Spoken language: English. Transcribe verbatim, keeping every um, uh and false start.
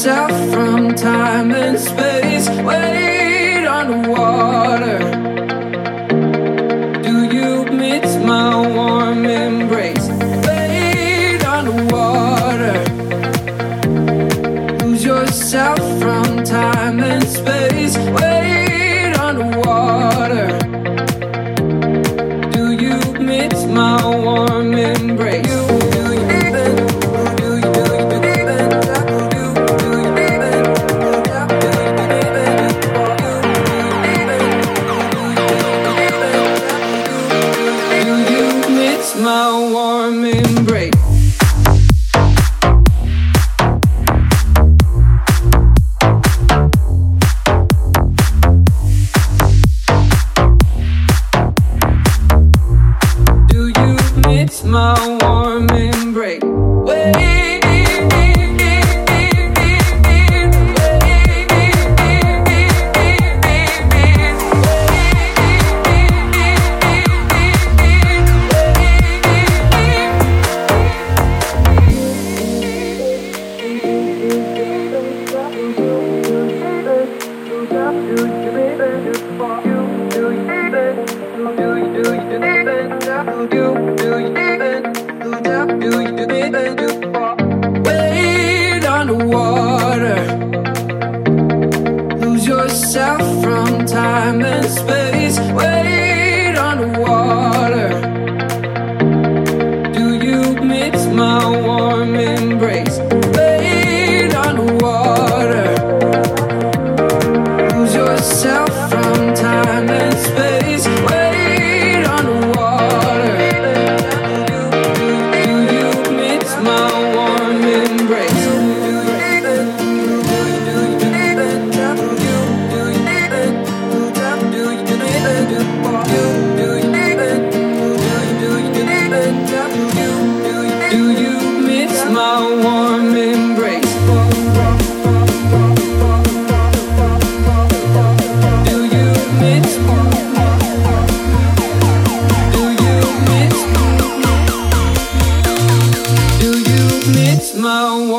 yourself from time and space. Wait underwater. Do you miss my warm embrace? Wait underwater. Lose yourself from time and space. Wait underwater. Do you miss my warm embrace? My warm embrace. Do you miss my warm embrace? Wait. Wait underwater. Lose yourself from time and space. Wait underwater. Do you miss my warm embrace? Wait underwater. Lose yourself from time and space. Wait underwater. Do you miss my warm embrace? Do you miss my warm embrace? Do you miss? Do you miss? Do you miss my warm